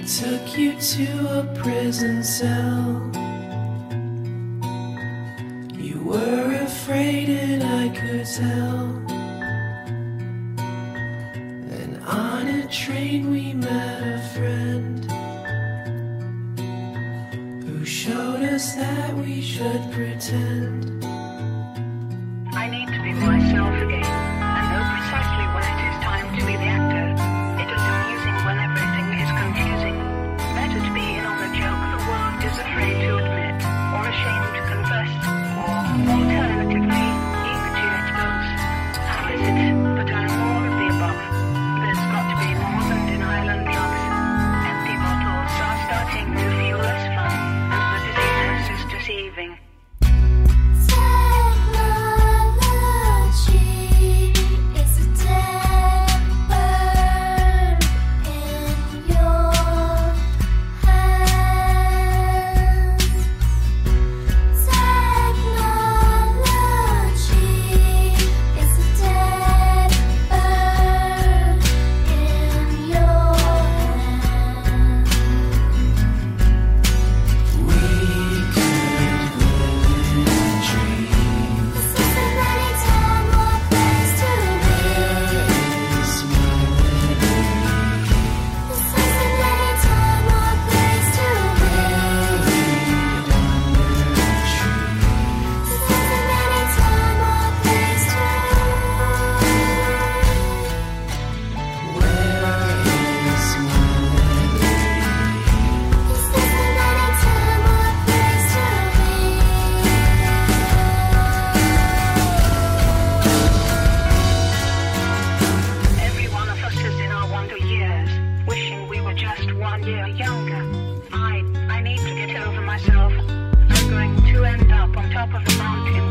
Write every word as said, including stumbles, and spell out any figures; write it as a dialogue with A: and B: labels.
A: took you to a prison cell. You were afraid and I could tell. Then on a train we met a friend who showed us that we should pretend.
B: I need to be myself again, and know precisely when it is time to be the actor. It is amusing when everything is confusing. Better to be in on the joke the world is afraid to admit, or ashamed to confess, or alternatively, eager to expose. How is it that I'm more of the above? There's got to be more than denial and drugs. Empty bottles are starting to feel less fun, and the disease is deceiving. Younger. I, I need to get over myself. I'm going to end up on top of a mountain